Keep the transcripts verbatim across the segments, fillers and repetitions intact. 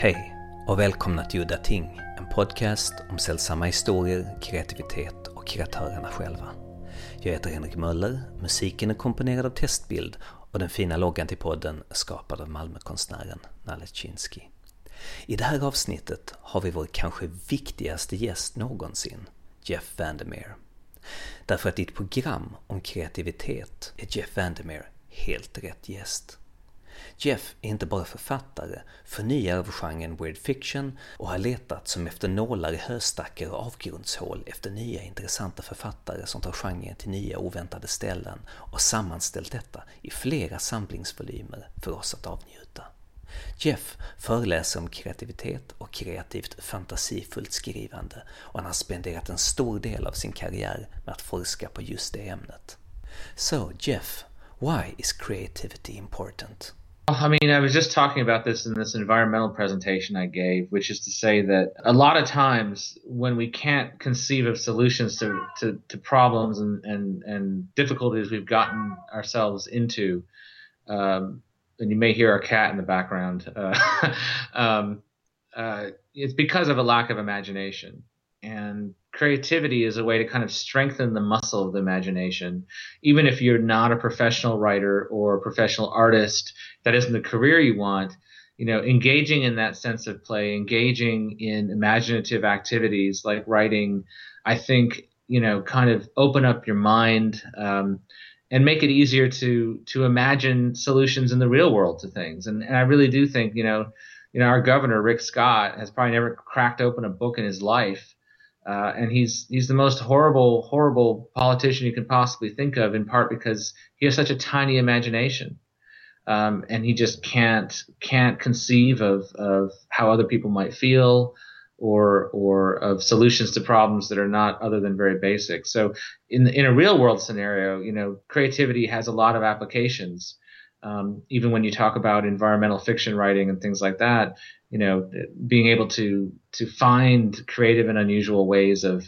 Hej och välkomna till Udda Ting, en podcast om sällsamma historier, kreativitet och kreatörerna själva. Jag heter Henrik Möller, musiken är komponerad av Testbild och den fina loggan till podden är skapad av Malmökonstnären Nalle Chinsky. I det här avsnittet har vi vår kanske viktigaste gäst någonsin, Jeff Vandermeer. Därför att i ett program om kreativitet är Jeff Vandermeer helt rätt gäst. Jeff är inte bara författare, förnyare av genren weird fiction och har letat som efter nålar i höstackar och avgrundshål efter nya intressanta författare som tar genren till nya oväntade ställen och sammanställt detta i flera samlingsvolymer för oss att avnjuta. Jeff föreläser om kreativitet och kreativt fantasifullt skrivande och han har spenderat en stor del av sin karriär med att forska på just det ämnet. So Jeff, why is creativity important? I mean, I was just talking about this in this environmental presentation I gave, which is to say that a lot of times when we can't conceive of solutions to, to, to problems and, and, and difficulties we've gotten ourselves into, um, and you may hear our cat in the background, uh, um, uh, it's because of a lack of imagination. And creativity is a way to kind of strengthen the muscle of the imagination. Even if you're not a professional writer or a professional artist, that isn't the career you want, you know, engaging in that sense of play, engaging in imaginative activities like writing, I think, you know, kind of open up your mind um, and make it easier to to imagine solutions in the real world to things. And, and I really do think, you know, you know, our governor, Rick Scott, has probably never cracked open a book in his life. Uh, and he's he's the most horrible, horrible politician you can possibly think of, in part because he has such a tiny imagination. Um, and he just can't can't conceive of, of how other people might feel or or of solutions to problems that are not other than very basic. So in in a real world scenario, you know, creativity has a lot of applications. Um, even when you talk about environmental fiction writing and things like that, you know, being able to to find creative and unusual ways of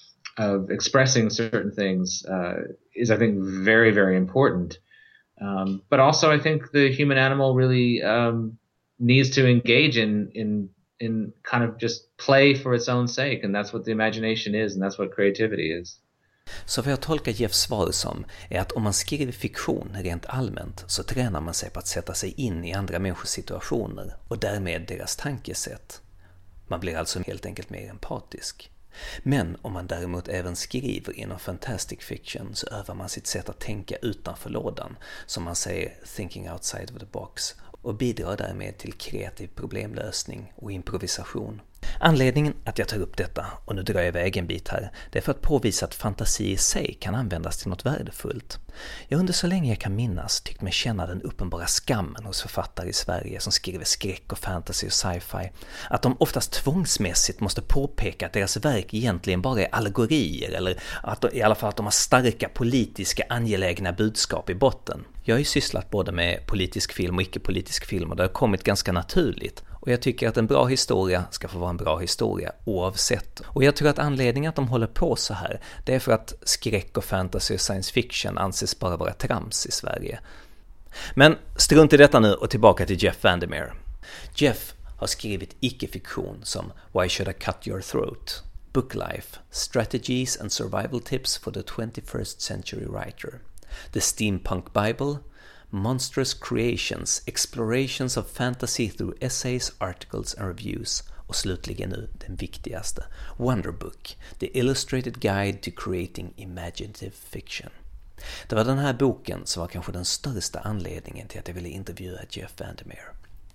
of expressing certain things uh, is, I think, very, very important. Um, but also, I think the human animal really um, needs to engage in in in kind of just play for its own sake, and that's what the imagination is, and that's what creativity is. Så vad jag tolkar Jeffs svar som är att om man skriver fiktion rent allmänt så tränar man sig på att sätta sig in i andra människors situationer och därmed deras tankesätt. Man blir alltså helt enkelt mer empatisk. Men om man däremot även skriver inom fantastic fiction så övar man sitt sätt att tänka utanför lådan, som man säger thinking outside of the box, och bidrar därmed till kreativ problemlösning och improvisation. Anledningen att jag tar upp detta, och nu drar jag iväg en bit här, det är för att påvisa att fantasi i sig kan användas till något värdefullt. Jag under så länge jag kan minnas tyckt mig känna den uppenbara skammen hos författare i Sverige som skriver skräck och fantasy och sci-fi, att de oftast tvångsmässigt måste påpeka att deras verk egentligen bara är allegorier, eller att de, i alla fall att de har starka politiska angelägna budskap i botten. Jag har ju sysslat både med politisk film och icke-politisk film och det har kommit ganska naturligt. Och jag tycker att en bra historia ska få vara en bra historia oavsett. Och jag tror att anledningen att de håller på så här, det är för att skräck och fantasy och science fiction anses bara vara trams i Sverige. Men strunt i detta nu och tillbaka till Jeff Vandermeer. Jeff har skrivit icke-fiktion som Why Should I Cut Your Throat, Book Life, Strategies and Survival Tips for the twenty-first Century Writer, The Steampunk Bible, Monstrous Creations, Explorations of Fantasy through Essays, Articles and Reviews, och slutligen nu den viktigaste, Wonder Book, The Illustrated Guide to Creating Imaginative Fiction. Det var den här boken som var kanske den största anledningen till att jag ville intervjua Jeff Vandermeer.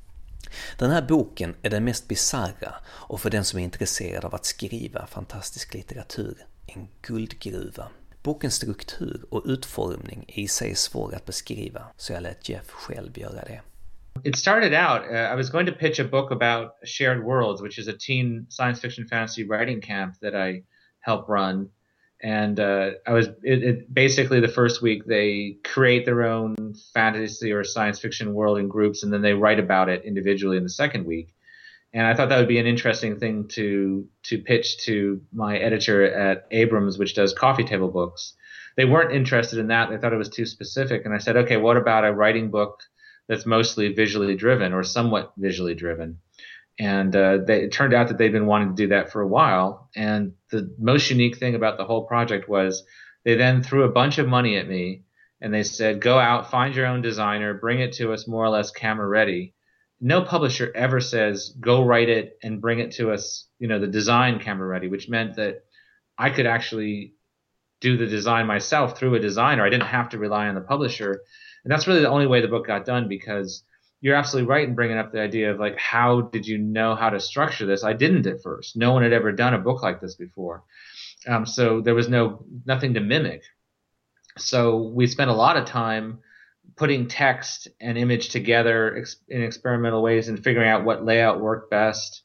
Den här boken är den mest bizarra och för den som är intresserad av att skriva fantastisk litteratur en guldgruva. Bokens struktur och utformning är i sig svår att beskriva, så jag lät Jeff själv göra det. It started out, uh, I was going to pitch a book about Shared Worlds, which is a teen science fiction fantasy writing camp that I help run. And uh, I was it, it, basically the first week they create their own fantasy or science fiction world in groups, and then they write about it individually in the second week. And I thought that would be an interesting thing to to pitch to my editor at Abrams, which does coffee table books. They weren't interested in that. They thought it was too specific. And I said, okay, what about a writing book that's mostly visually driven or somewhat visually driven? And uh, they, it turned out that they'd been wanting to do that for a while. And the most unique thing about the whole project was they then threw a bunch of money at me, and they said, go out, find your own designer, bring it to us more or less camera ready. No publisher ever says, go write it and bring it to us, you know, the design camera ready, which meant that I could actually do the design myself through a designer. I didn't have to rely on the publisher. And that's really the only way the book got done, because you're absolutely right in bringing up the idea of like, how did you know how to structure this? I didn't at first. No one had ever done a book like this before. Um, so there was no nothing to mimic. So we spent a lot of time putting text and image together ex- in experimental ways and figuring out what layout worked best.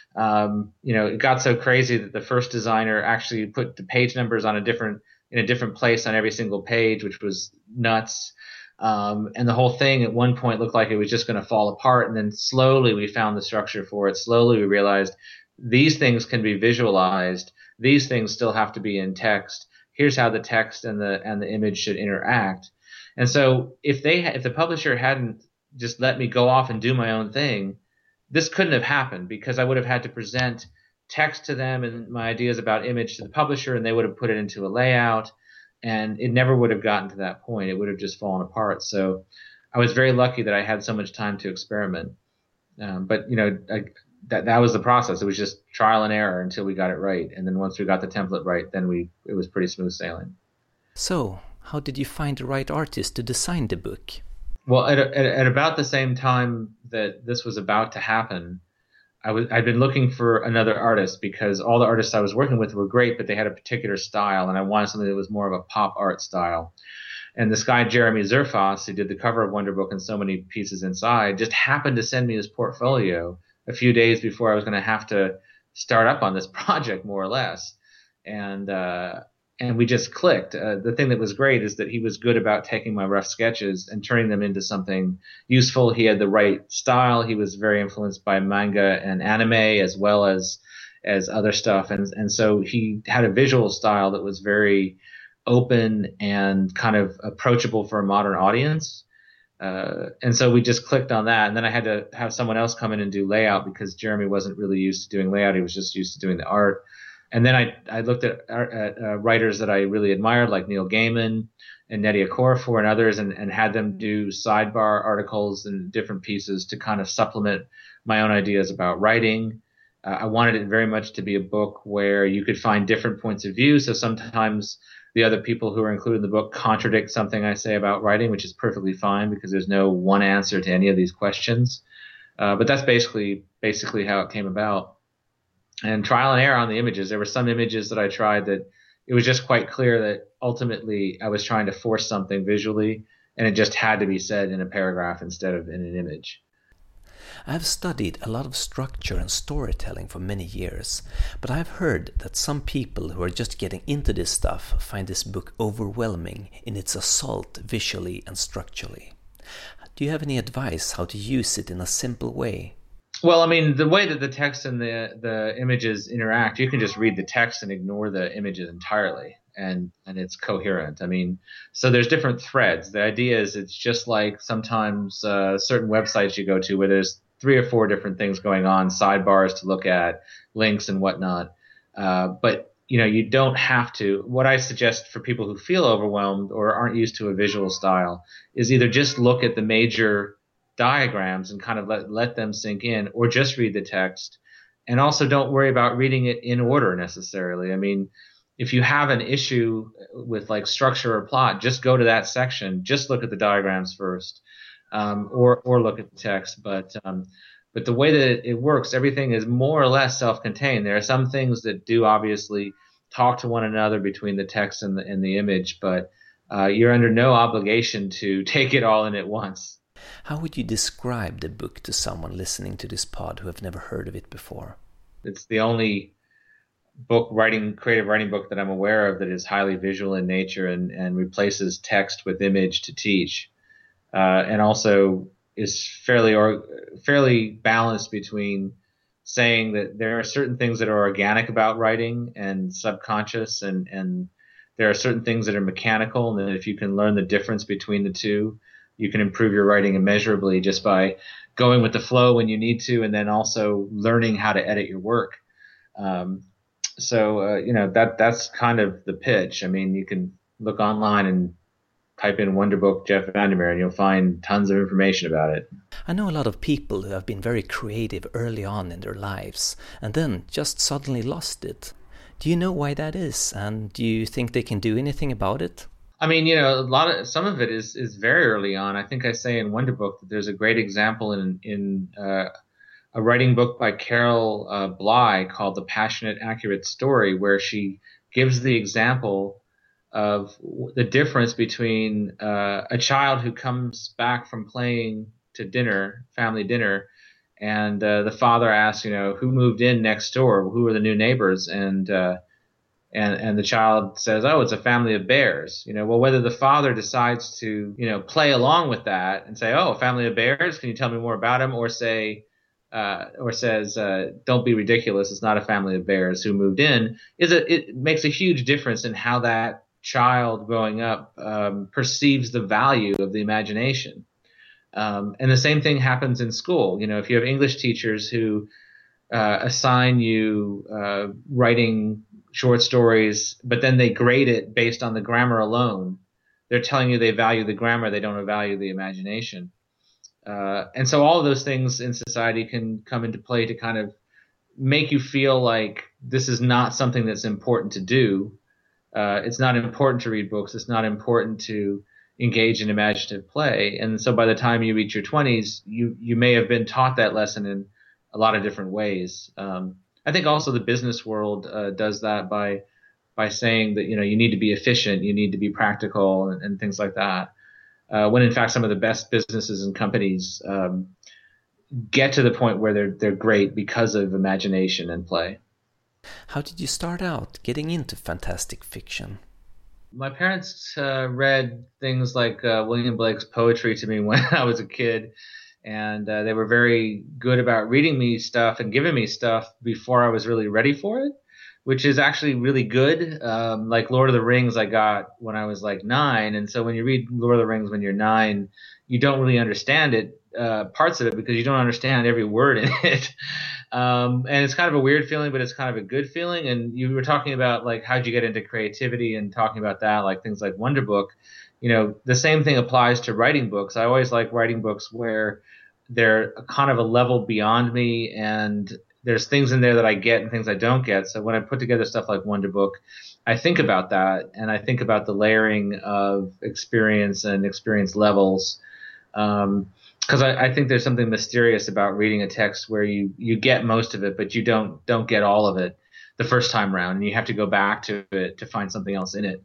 Um, you know, it got so crazy that the first designer actually put the page numbers on a different in a different place on every single page, which was nuts. Um, and the whole thing at one point looked like it was just going to fall apart. And then slowly we found the structure for it. Slowly we realized these things can be visualized. These things still have to be in text. Here's how the text and the and the image should interact. And so if they if the publisher hadn't just let me go off and do my own thing, this couldn't have happened, because I would have had to present text to them and my ideas about image to the publisher, and they would have put it into a layout, and it never would have gotten to that point. It would have just fallen apart. So I was very lucky that I had so much time to experiment. Um, but, you know, I, that that was the process. It was just trial and error until we got it right. And then once we got the template right, then we it was pretty smooth sailing. So, how did you find the right artist to design the book? Well, at, at, at about the same time that this was about to happen, I was I'd been looking for another artist, because all the artists I was working with were great, but they had a particular style, and I wanted something that was more of a pop art style. And this guy, Jeremy Zerfas, who did the cover of Wonder Book and so many pieces inside, just happened to send me his portfolio a few days before I was going to have to start up on this project, more or less. And uh, and we just clicked. Uh, the thing that was great is that he was good about taking my rough sketches and turning them into something useful. He had the right style. He was very influenced by manga and anime, as well as as other stuff. And and so he had a visual style that was very open and kind of approachable for a modern audience. Uh, and so we just clicked on that. And then I had to have someone else come in and do layout, because Jeremy wasn't really used to doing layout. He was just used to doing the art. And then I, I looked at, at uh, writers that I really admired, like Neil Gaiman and Nnedi Okorafor and others, and, and had them do sidebar articles and different pieces to kind of supplement my own ideas about writing. Uh, I wanted it very much to be a book where you could find different points of view. So sometimes the other people who are included in the book contradict something I say about writing, which is perfectly fine, because there's no one answer to any of these questions. Uh, but that's basically basically how it came about. And trial and error on the images. There were some images that I tried that it was just quite clear that ultimately I was trying to force something visually, and it just had to be said in a paragraph instead of in an image. I have studied a lot of structure and storytelling for many years, but I've heard that some people who are just getting into this stuff find this book overwhelming in its assault visually and structurally. Do you have any advice how to use it in a simple way? Well, I mean, the way that the text and the the images interact, you can just read the text and ignore the images entirely, and and it's coherent. I mean, so there's different threads. The idea is it's just like sometimes uh, certain websites you go to where there's three or four different things going on, sidebars to look at, links and whatnot. Uh, but you know, you don't have to. What I suggest for people who feel overwhelmed or aren't used to a visual style is either just look at the major diagrams and kind of let let them sink in, or just read the text. And also don't worry about reading it in order necessarily. I mean, if you have an issue with like structure or plot, just go to that section, just look at the diagrams first, um, or or look at the text. But um, but the way that it works, everything is more or less self-contained. There are some things that do obviously talk to one another between the text and the and the image, but uh, you're under no obligation to take it all in at once. How would you describe the book to someone listening to this pod who have never heard of it before? It's the only book writing, creative writing book that I'm aware of that is highly visual in nature and, and replaces text with image to teach, uh, and also is fairly or fairly balanced between saying that there are certain things that are organic about writing and subconscious, and and there are certain things that are mechanical, and that if you can learn the difference between the two, you can improve your writing immeasurably just by going with the flow when you need to, and then also learning how to edit your work. Um, so uh, you know that that's kind of the pitch. I mean, you can look online and type in Wonderbook Jeff Vandermeer, and you'll find tons of information about it. I know a lot of people who have been very creative early on in their lives and then just suddenly lost it. Do you know why that is, and do you think they can do anything about it? I mean, you know, a lot of some of it is is very early on. I think I say in Wonderbook that there's a great example in in uh, a writing book by Carol uh, Bly called The Passionate Accurate Story, where she gives the example of the difference between uh, a child who comes back from playing to dinner, family dinner, and uh, the father asks, you know, who moved in next door? Who are the new neighbors? And uh, and and the child says, oh, it's a family of bears. You know, well, whether the father decides to, you know, play along with that and say, oh, a family of bears, can you tell me more about them? Or say, uh, or says, uh, don't be ridiculous, it's not a family of bears who moved in, is a, it makes a huge difference in how that child growing up um, perceives the value of the imagination. Um, and the same thing happens in school. You know, if you have English teachers who uh, assign you uh, writing short stories, but then they grade it based on the grammar alone, they're telling you they value the grammar, they don't value the imagination. Uh, and so all of those things in society can come into play to kind of make you feel like this is not something that's important to do. Uh, it's not important to read books. It's not important to engage in imaginative play. And so by the time you reach your twenties, you, you may have been taught that lesson in a lot of different ways. Um, I think also the business world uh, does that by by saying that, you know, you need to be efficient, you need to be practical, and, and things like that. Uh, when in fact some of the best businesses and companies um, get to the point where they're they're great because of imagination and play. How did you start out getting into fantastic fiction? My parents uh, read things like uh, William Blake's poetry to me when I was a kid, and uh, they were very good about reading me stuff and giving me stuff before I was really ready for it, which is actually really good. Um, like Lord of the Rings I got when I was like nine, and so when you read Lord of the Rings when you're nine, you don't really understand it, uh, parts of it, because you don't understand every word in it. Um, and it's kind of a weird feeling, but it's kind of a good feeling. And you were talking about like how'd you get into creativity and talking about that, like things like Wonderbook. You know, the same thing applies to writing books. I always like writing books where they're kind of a level beyond me, and there's things in there that I get and things I don't get. So when I put together stuff like Wonderbook, I think about that, and I think about the layering of experience and experience levels. Um, Because I, I think there's something mysterious about reading a text where you, you get most of it, but you don't don't get all of it the first time around, and you have to go back to it to find something else in it,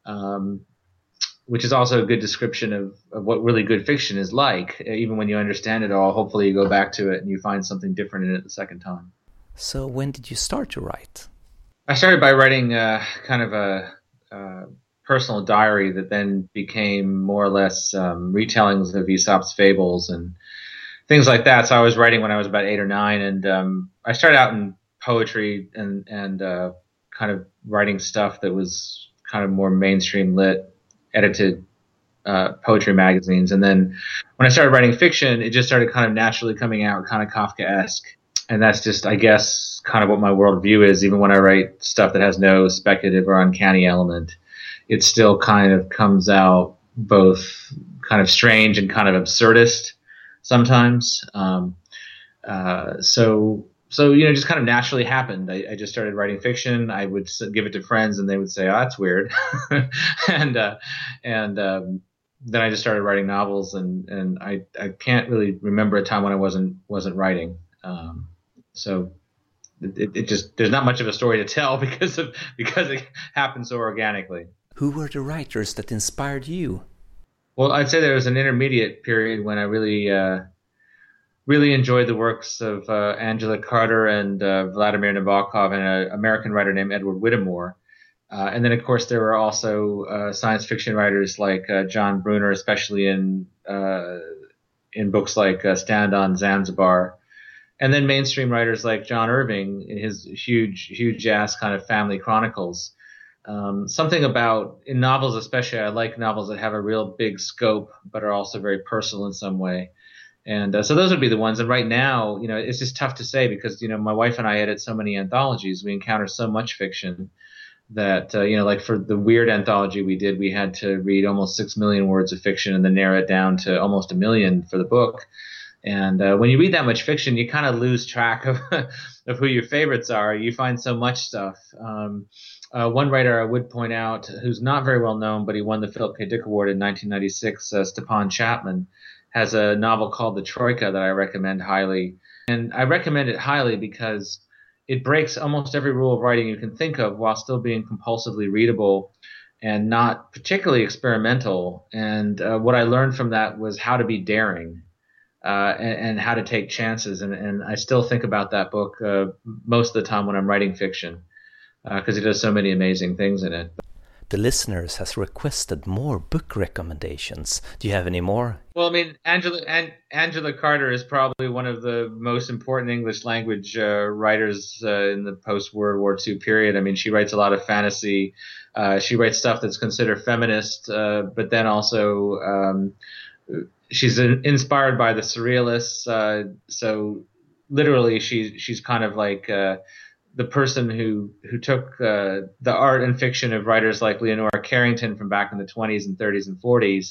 um, which is also a good description of, of what really good fiction is like. Even when you understand it all, hopefully you go back to it and you find something different in it the second time. So when did you start to write? I started by writing uh, kind of a... Uh, personal diary that then became more or less um, retellings of Aesop's fables and things like that. So I was writing when I was about eight or nine, and um, I started out in poetry and and uh, kind of writing stuff that was kind of more mainstream lit, edited uh, poetry magazines. And then when I started writing fiction, it just started kind of naturally coming out, kind of Kafkaesque. And that's just, I guess, kind of what my worldview is. Even when I write stuff that has no speculative or uncanny element, it still kind of comes out both kind of strange and kind of absurdist sometimes. Um, uh, so, so you know, just kind of naturally happened. I, I just started writing fiction. I would give it to friends, and they would say, "Oh, that's weird," and uh, and um, then I just started writing novels. And, and I I can't really remember a time when I wasn't wasn't writing. Um, so. It, it just there's not much of a story to tell because of because it happened so organically. Who were the writers that inspired you? Well, I'd say there was an intermediate period when I really, uh, really enjoyed the works of uh, Angela Carter and uh, Vladimir Nabokov and an American writer named Edward Whittemore. Uh, and then, of course, there were also uh, science fiction writers like uh, John Brunner, especially in uh, in books like uh, Stand on Zanzibar. And then mainstream writers like John Irving in his huge, huge ass kind of family chronicles. Um, something about, in novels especially, I like novels that have a real big scope but are also very personal in some way. And uh, so those would be the ones. And right now, you know, it's just tough to say because, you know, my wife and I edit so many anthologies. We encounter so much fiction that, uh, you know, like for the Weird anthology we did, we had to read almost six million words of fiction and then narrow it down to almost a million for the book. And uh, when you read that much fiction, you kind of lose track of of who your favorites are. You find so much stuff. Um, uh, one writer I would point out, who's not very well known, but he won the Philip K. Dick Award in nineteen ninety-six, uh, Stepan Chapman, has a novel called The Troika that I recommend highly. And I recommend it highly because it breaks almost every rule of writing you can think of while still being compulsively readable and not particularly experimental. And uh, what I learned from that was how to be daring. Uh, and, and how to take chances. And, and I still think about that book uh, most of the time when I'm writing fiction because uh, it does so many amazing things in it. The listeners has requested more book recommendations. Do you have any more? Well, I mean, Angela An- Angela Carter is probably one of the most important English language uh, writers uh, in the post-World War Two period. I mean, she writes a lot of fantasy. Uh, she writes stuff that's considered feminist, uh, but then also um, she's inspired by the surrealists. Uh, so literally, she, she's kind of like uh, the person who who took uh, the art and fiction of writers like Leonora Carrington from back in the twenties and thirties and forties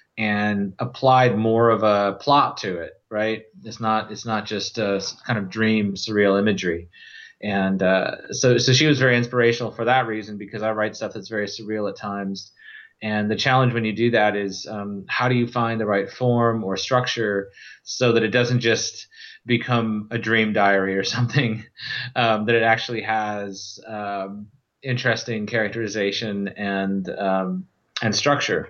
and applied more of a plot to it. Right? It's not it's not just a kind of dream surreal imagery. And uh, so so she was very inspirational for that reason because I write stuff that's very surreal at times. And the challenge when you do that is um, how do you find the right form or structure so that it doesn't just become a dream diary or something, um, that it actually has um, interesting characterization and um, and structure.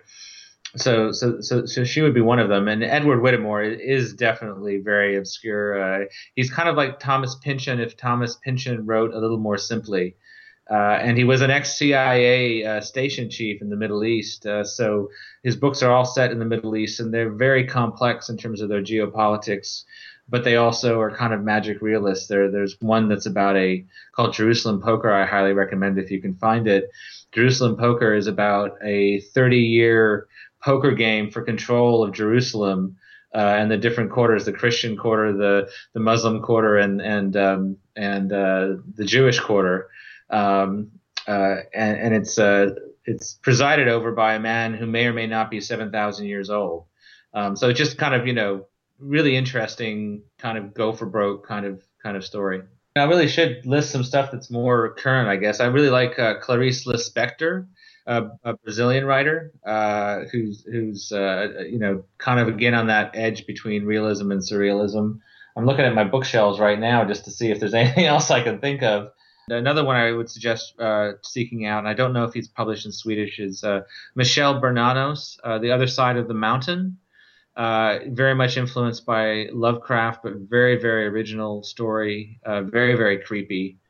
So, so, so, so she would be one of them. And Edward Whittemore is definitely very obscure. Uh, he's kind of like Thomas Pynchon if Thomas Pynchon wrote a little more simply. Uh, and he was an ex-C I A uh, station chief in the Middle East. Uh, so his books are all set in the Middle East, and they're very complex in terms of their geopolitics. But they also are kind of magic realists. There, there's one that's about a called Jerusalem Poker. I highly recommend if you can find it. Jerusalem Poker is about a thirty-year poker game for control of Jerusalem uh, and the different quarters: the Christian quarter, the the Muslim quarter, and and um, and uh, the Jewish quarter. Um, uh, and, and it's uh, it's presided over by a man who may or may not be seven thousand years old. Um, so it's just kind of, you know, really interesting kind of go for broke kind of kind of story. I really should list some stuff that's more current, I guess. I really like uh, Clarice Lispector, uh, a Brazilian writer uh, who's who's uh, you know, kind of again on that edge between realism and surrealism. I'm looking at my bookshelves right now just to see if there's anything else I can think of. Another one I would suggest uh, seeking out, and I don't know if he's published in Swedish, is uh, Michel Bernanos, uh, The Other Side of the Mountain. Uh, very much influenced by Lovecraft, but very, very original story. Uh, very, very creepy.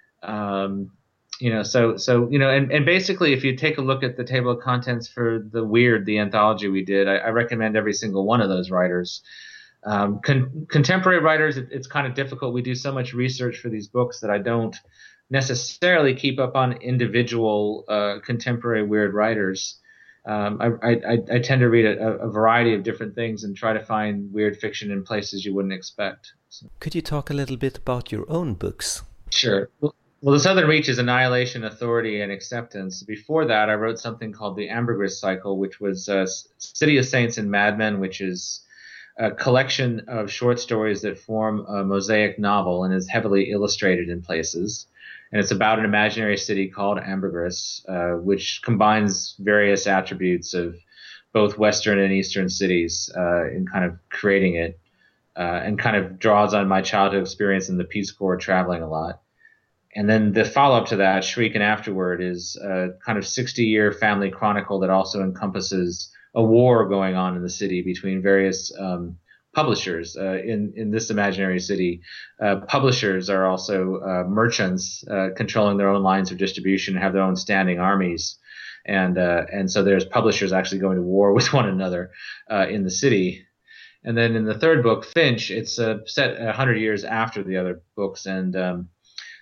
Um, you know, so so you know, and, and basically, if you take a look at the table of contents for the Weird, the anthology we did, I, I recommend every single one of those writers. Um, con- contemporary writers, it, it's kind of difficult. We do so much research for these books that I don't necessarily keep up on individual uh, contemporary weird writers. Um, I, I, I tend to read a, a variety of different things and try to find weird fiction in places you wouldn't expect. So. Could you talk a little bit about your own books? Sure. Well, The Southern Reach is Annihilation, Authority, and Acceptance. Before that, I wrote something called the Ambergris Cycle, which was uh, City of Saints and Madmen, which is a collection of short stories that form a mosaic novel and is heavily illustrated in places. And it's about an imaginary city called Ambergris, uh, which combines various attributes of both Western and Eastern cities uh, in kind of creating it, uh, and kind of draws on my childhood experience in the Peace Corps traveling a lot. And then the follow-up to that, Shriek and Afterward, is a kind of sixty-year family chronicle that also encompasses a war going on in the city between various um, publishers. Uh, in, in this imaginary city, uh, publishers are also uh, merchants uh, controlling their own lines of distribution and have their own standing armies. And uh, and so there's publishers actually going to war with one another uh, in the city. And then in the third book, Finch, it's uh, set one hundred years after the other books. And um,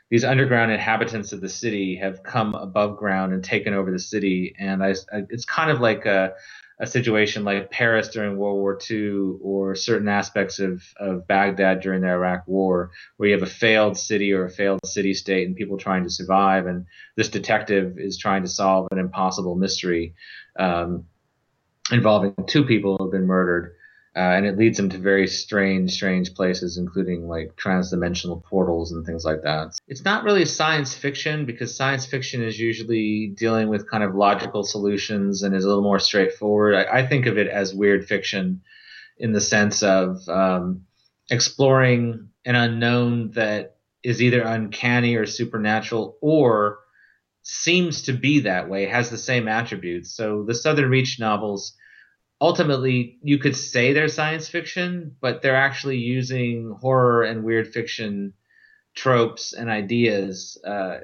these underground inhabitants of the city have come above ground and taken over the city. And I, I, it's kind of like a, a situation like Paris during World War Two, or certain aspects of, of Baghdad during the Iraq War, where you have a failed city or a failed city state and people trying to survive. And this detective is trying to solve an impossible mystery um, involving two people who have been murdered. Uh, and it leads them to very strange, strange places, including like transdimensional portals and things like that. It's not really science fiction, because science fiction is usually dealing with kind of logical solutions and is a little more straightforward. I, I think of it as weird fiction in the sense of um, exploring an unknown that is either uncanny or supernatural, or seems to be that way, has the same attributes. So the Southern Reach novels, ultimately, you could say they're science fiction, but they're actually using horror and weird fiction tropes and ideas uh,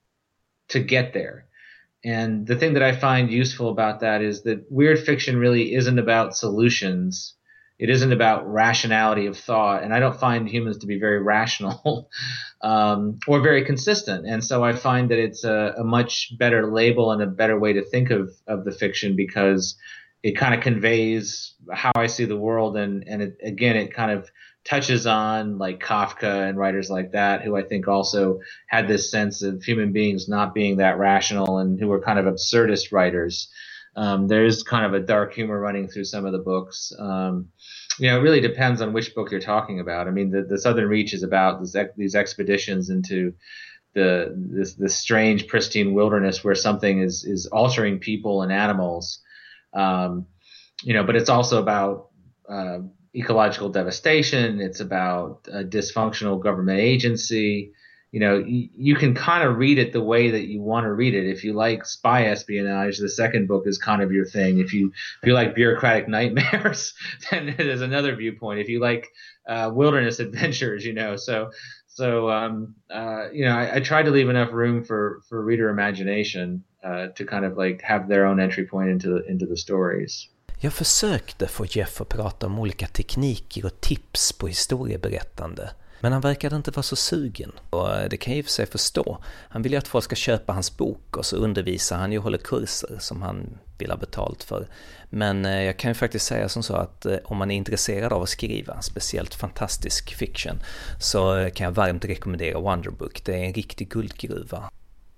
to get there. And the thing that I find useful about that is that weird fiction really isn't about solutions. It isn't about rationality of thought. And I don't find humans to be very rational um, or very consistent. And so I find that it's a, a much better label and a better way to think of, of the fiction, because it kind of conveys how I see the world. And, and it, again, it kind of touches on like Kafka and writers like that, who I think also had this sense of human beings not being that rational, and who were kind of absurdist writers. Um, there's kind of a dark humor running through some of the books. Um, you know, it really depends on which book you're talking about. I mean, the, the Southern Reach is about this, these expeditions into the this, this strange, pristine wilderness where something is is altering people and animals. Um, you know, but it's also about uh, ecological devastation. It's about a dysfunctional government agency. You know, y- you can kind of read it the way that you want to read it. If you like spy espionage, the second book is kind of your thing. If you if you like bureaucratic nightmares, then there's another viewpoint. If you like uh, wilderness adventures, you know, so so um, uh, you know, I, I try to leave enough room for for reader imagination uh, to kind of like have their own entry point into the, into the stories. Jag försökte få Jeff att prata om olika tekniker och tips på historieberättande, men han verkade inte vara så sugen. Och det kan jag i och för sig förstå. Han vill ju att folk ska köpa hans bok, och så undervisar han ju och håller kurser som han vill ha betalt för. Men jag kan ju faktiskt säga som så att om man är intresserad av att skriva, speciellt fantastisk fiction, så kan jag varmt rekommendera Wonderbook. Det är en riktig guldgruva.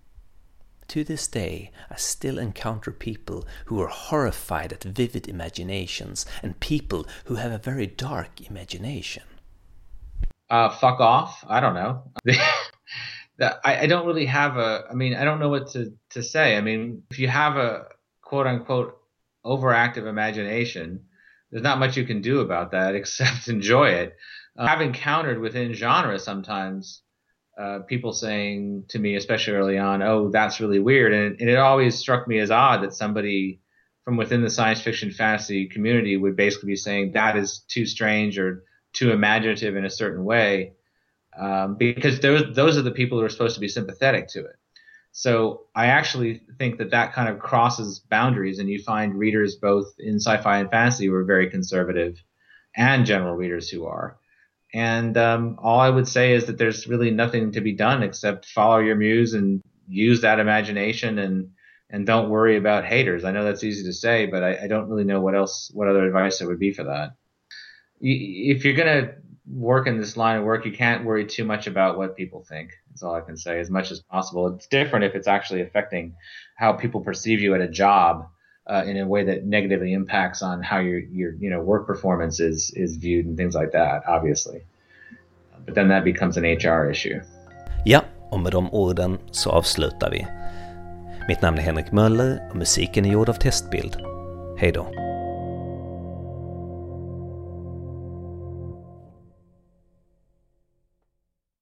To this day, I still encounter people who are horrified at vivid imaginations and people who have a very dark imagination. Uh, fuck off. I don't know. I, I don't really have a, I mean, I don't know what to, to say. I mean, if you have a quote unquote overactive imagination, there's not much you can do about that except enjoy it. Uh, I've encountered within genre sometimes Uh, people saying to me, especially early on, oh, that's really weird. And, and it always struck me as odd that somebody from within the science fiction fantasy community would basically be saying that is too strange or too imaginative in a certain way, um, because those, those are the people who are supposed to be sympathetic to it. So I actually think that that kind of crosses boundaries, and you find readers both in sci-fi and fantasy who are very conservative, and general readers who are. And um, all I would say is that there's really nothing to be done except follow your muse and use that imagination, and and don't worry about haters. I know that's easy to say, but I, I don't really know what else, what other advice there would be for that. You, if you're going to work in this line of work, you can't worry too much about what people think. That's all I can say, as much as possible. It's different if it's actually affecting how people perceive you at a job uh, in a way that negatively impacts on how your your you know work performance is is viewed and things like that, obviously. But then that becomes an H R issue. Ja, och med de orden så avslutar vi. Mitt namn är Henrik Möller och musiken är gjord av Testbild. Hej då.